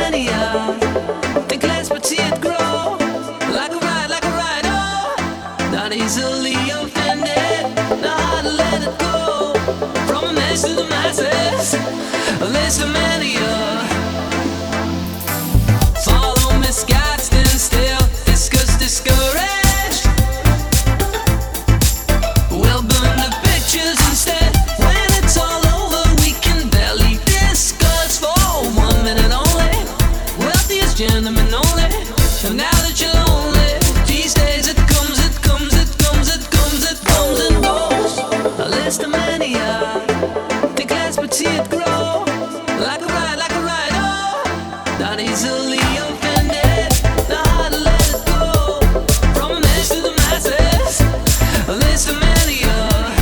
mania. Think less but see it grow. Like a ride, oh. Not easily offended. Know how to let it go. From a mess to the masses. Less mania. Follow misguided, stand still. Discouraged. We'll burn the pictures instead. When it's all over, we can barely discuss for 1 minute only. Wealthiest gentlemen only. And now that you're lonely, these days it comes and goes. A list of mania. Think less but see it grow. Like a ride, oh. Not easily offended. Know how to let it go. From a mess to the masses. A list of mania.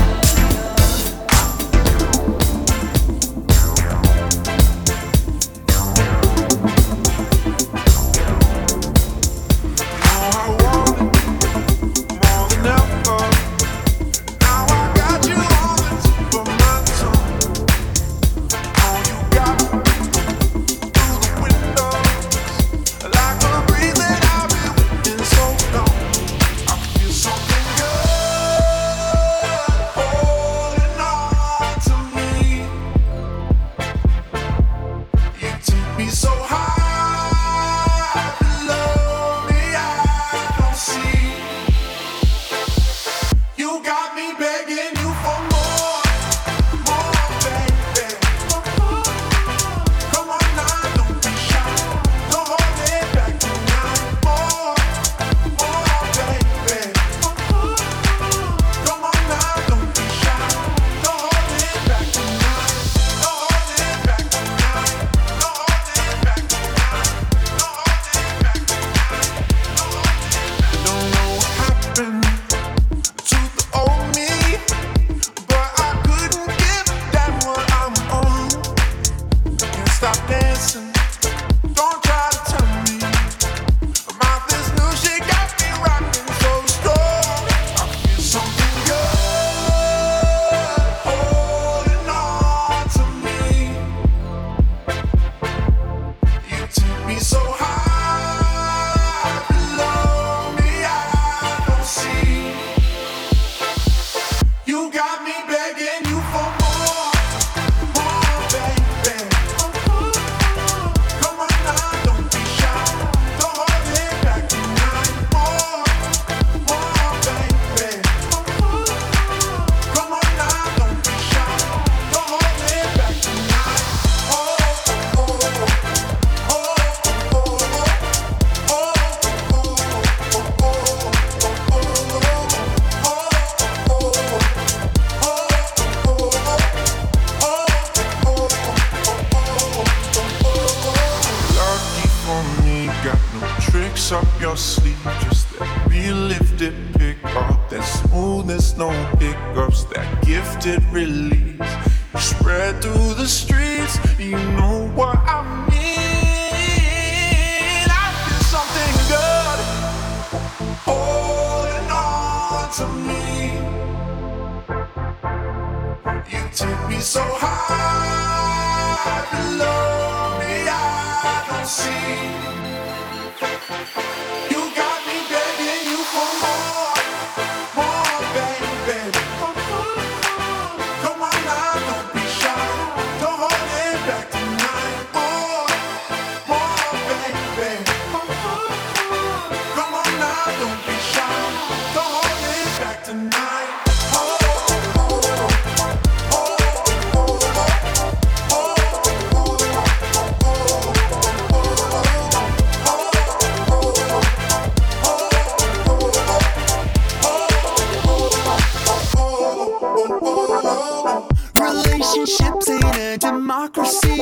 Relationships ain't a democracy.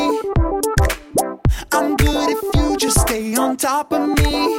I'm good if you just stay on top of me.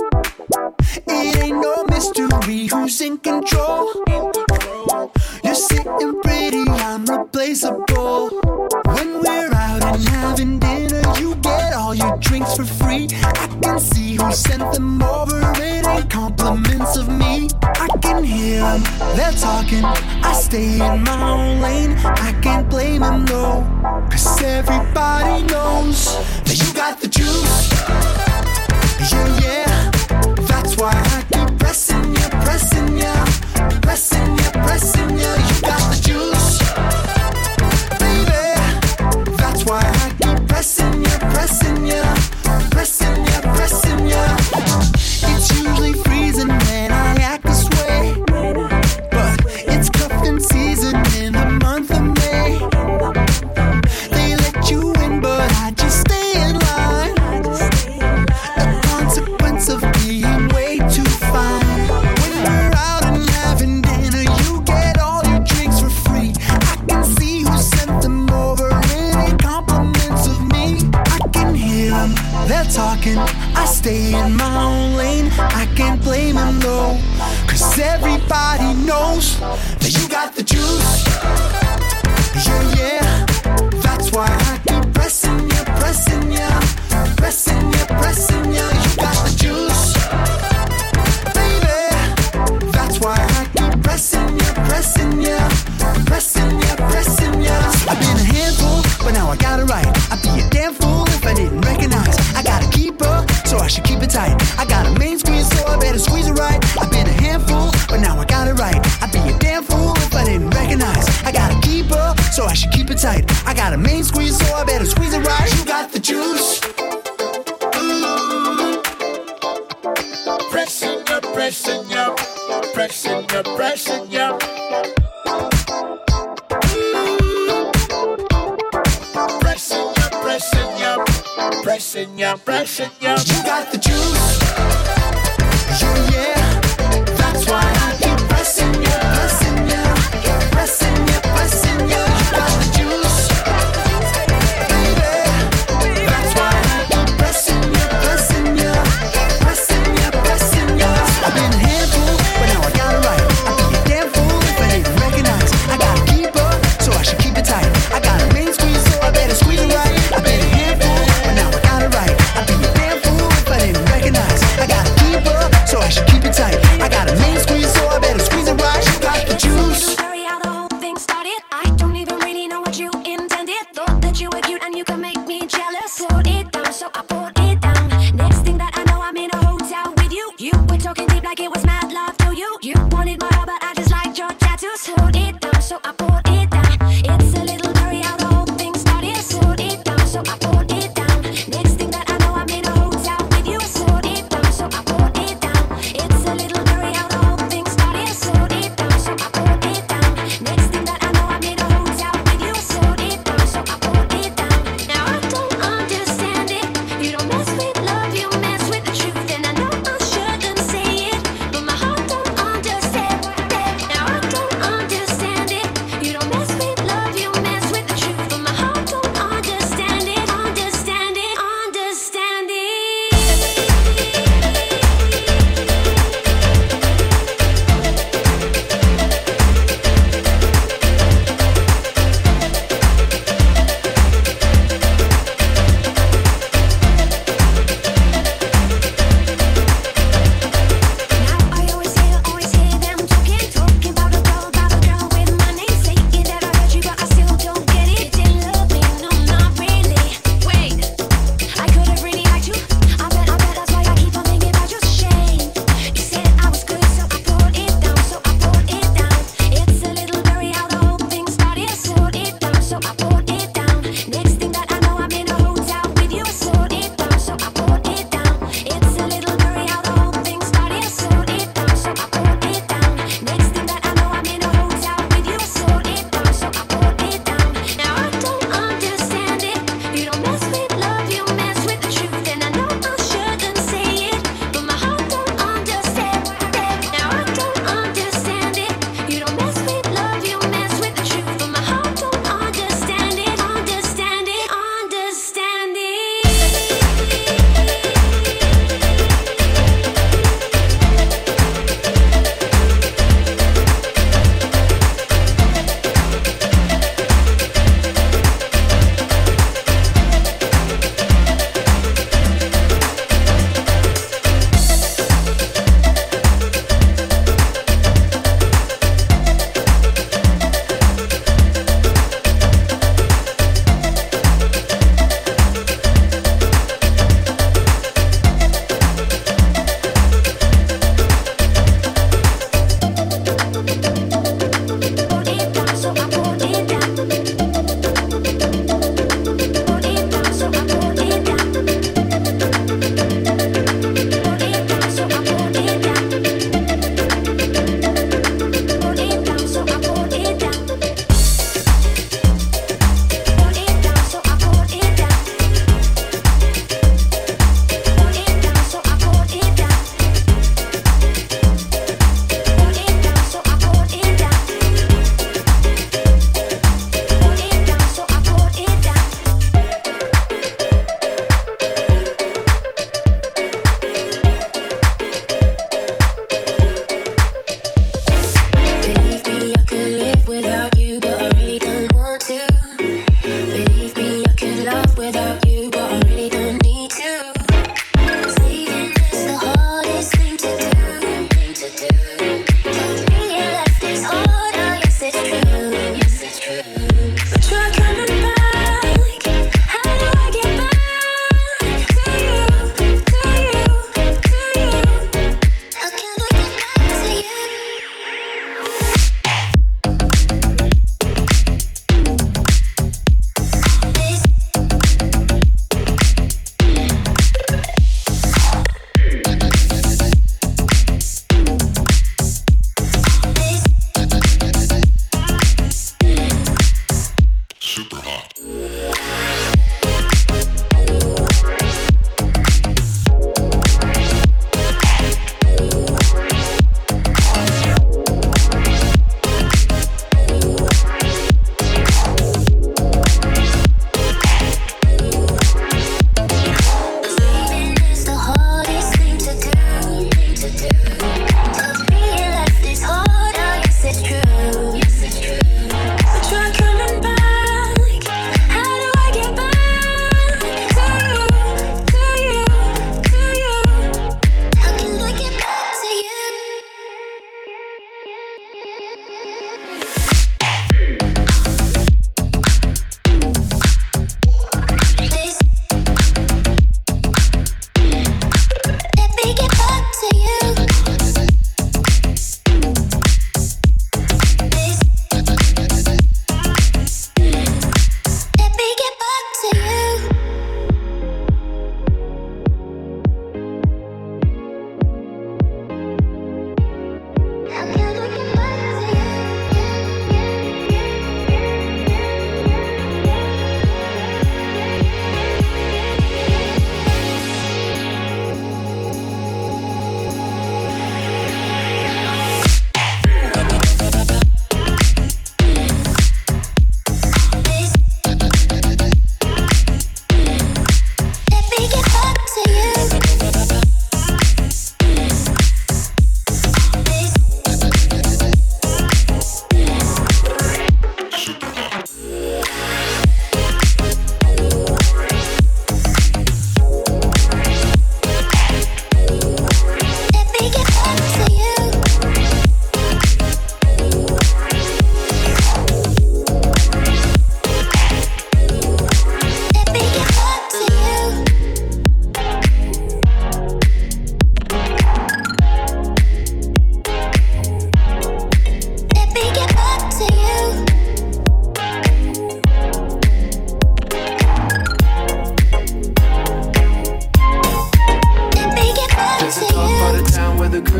It ain't no mystery who's in control. You're sitting pretty, I'm replaceable. When we're out and having dinner, you get all your drinks for free. I can see who sent them over, it ain't compliments of me. I can hear them, they're talking, I stay in my own lane. I can't blame them, no, 'cause everybody knows that you got the juice. Yeah, yeah, that's why I keep pressing you, pressing you, pressing you, pressing you. You got the juice, baby. That's why I keep pressing you, pressing you, pressing you, pressing you. It's usually freezing when I act this way, but it's cuffing season in the month of May. They let you in, but I just stay in line. A consequence of being way too fine. When we're out and having dinner, you get all your drinks for free. I can see who sent them over. Any compliments of me, I can hear them, they're talking. I stay in my own lane. I can't blame them though, 'cause everybody knows that you got the juice. Yeah, yeah, that's why I keep pressing you, pressing you, pressing you, pressing you. You got the juice, baby. That's why I keep pressing you, pressing you, pressing you, pressing you. I've been a handful, but now I got it right. I'd be a damn fool if I didn't recognize. I got a keeper, so I should keep it tight. I got a main squeeze, so I better squeeze it right. I've been a handful, but now I got it right. I'd be a damn fool if I didn't recognize. I got a keeper, so I should keep it tight. I got a main squeeze, so I better squeeze it right. You got the juice. Pressing you, pressing you, pressing you, pressing you. Pressing you, pressing you, pressing you, pressing you. You got the juice. Yeah, yeah, that's why I keep pressing you, pressing you, pressing you, pressing you. You got the juice, baby. That's why I keep pressing you, pressing you, pressing you, pressing you. I've been a handful, but now I got it right. I'd be a damn fool if I didn't recognize. I got a keeper, so I should keep it tight. I got a main squeeze, so I better squeeze it right. I've been a handful, but now I got it right. I'd be a damn fool if I didn't recognize. I got a keeper, so I should keep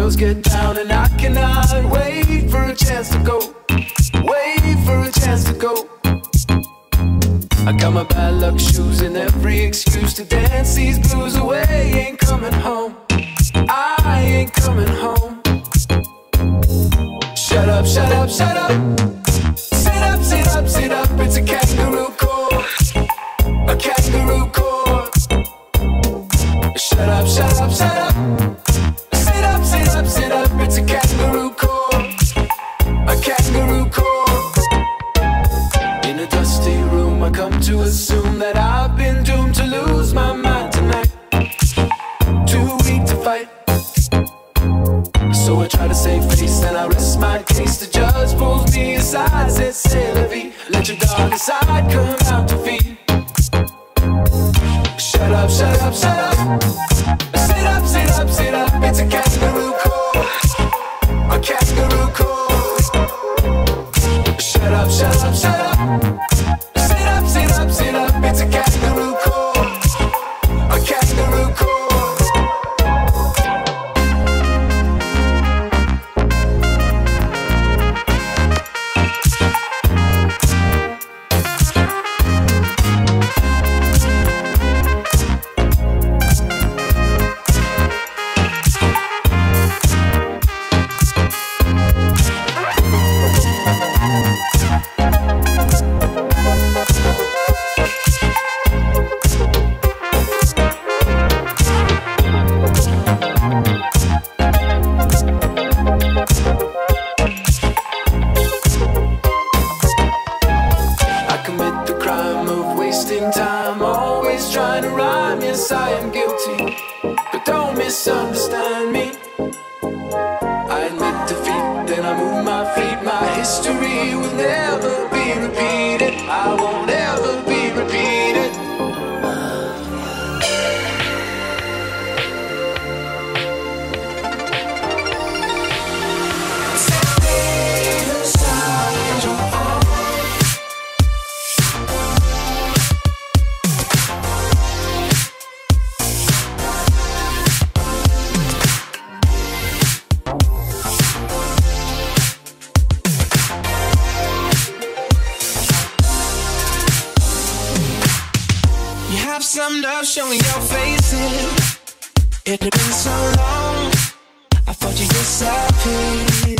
girls get down and I cannot wait for a chance to go. Wait for a chance to go. I got my bad luck shoes and every excuse to dance these blues away. Ain't coming home, I ain't coming home. Shut up, shut up, shut up. Sit up, sit up, sit up. It's a kangaroo court, a kangaroo court. Shut up, shut up, shut up. Sit up, sit up, sit up. It's a kangaroo court, a kangaroo court. In a dusty room I come to assume that I've been doomed to lose my mind tonight. Too weak to fight, so I try to save face and I rest my case. The judge pulls me aside, says, "C'est la vie. Let your dark side come out to feed." Shut up, shut up, shut up. Sit up, sit up, sit up. It's a kangaroo court, a kangaroo court. Shut up, shut up, shut up. Sit up, sit up, sit up. It's a kangaroo court, a kangaroo court. Misunderstand me. I admit defeat, then I move my feet. My history will never be repeated. I won't ever be repeated. Summed up showing your faces. It had been so long, I thought you disappeared.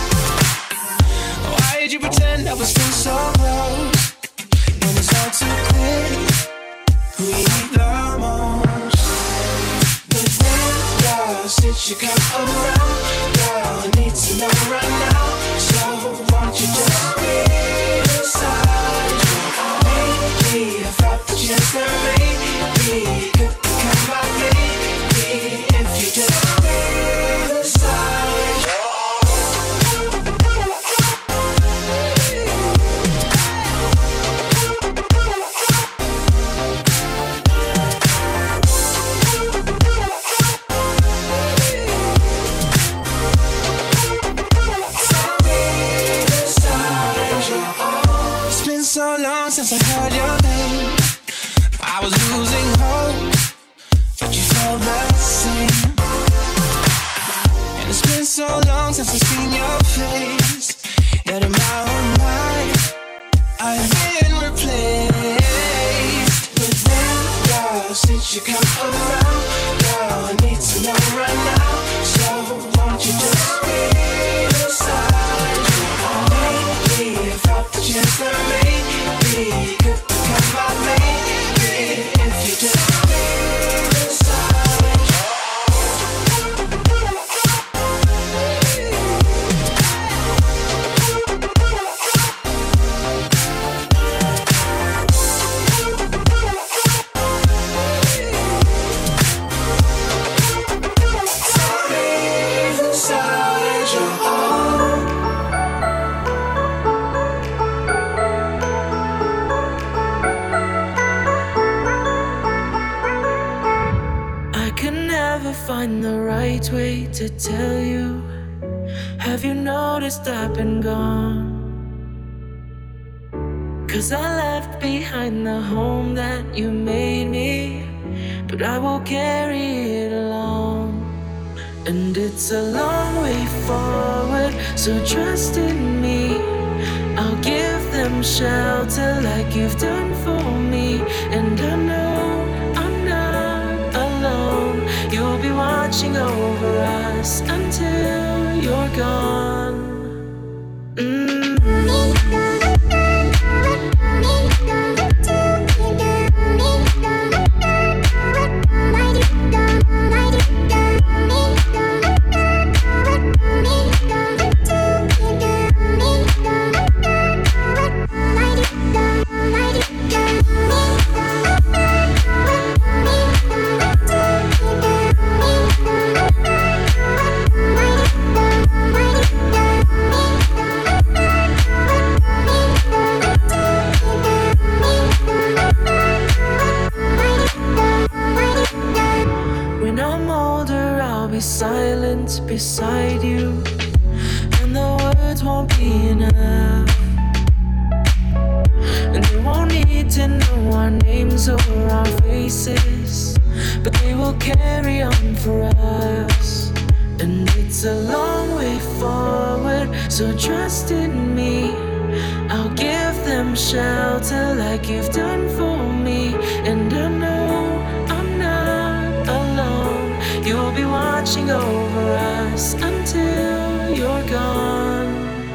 Why did you pretend I was still so close? When it's all too clear who you need the most. But then, girl, since you come around, girl, I need to know right now. So why don't you just be inside? Maybe I thought that you just never made. Could become my baby if you just stay aside. It's been so long since I heard your name. I was losing hope, but you felt the same. And it's been so long since I've seen your face. Yet in my own mind, I've been replaced. But then, girl, since you come around, girl, I need to know right now. So won't you just be inside? Maybe I thought that you just never made me. Could become my baby. If you just stay inside. Find the right way to tell you. Have you noticed I've been gone? 'Cause I left behind the home that you made me, but I will carry it along. And it's a long way forward, so trust in me. I'll give them shelter like you've done for me. And I know I'm not alone. You'll be watching over us until you're gone. When I'm older, I'll be silent beside you, and the words won't be enough. And they won't need to know our names or our faces, but they will carry on for us. And it's a long way forward, so trust in me. I'll give them shelter like you've done for me. And I know I'm not alone. You'll be watching over us until you're gone.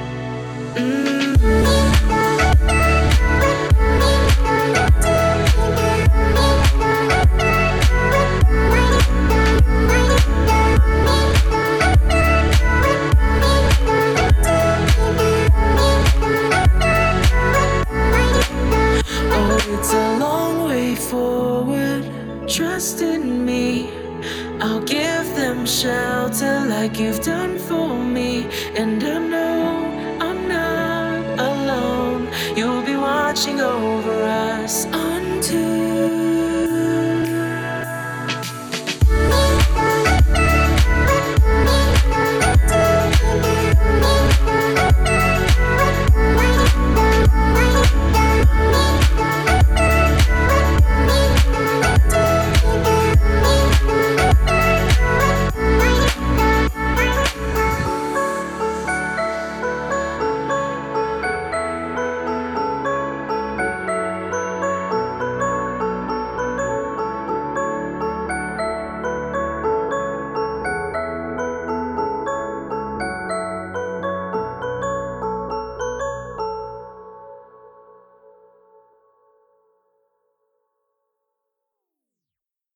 It's a long way forward, trust in me. I'll give them shelter like you've done for me. And I know I'm not alone. You'll be watching over us until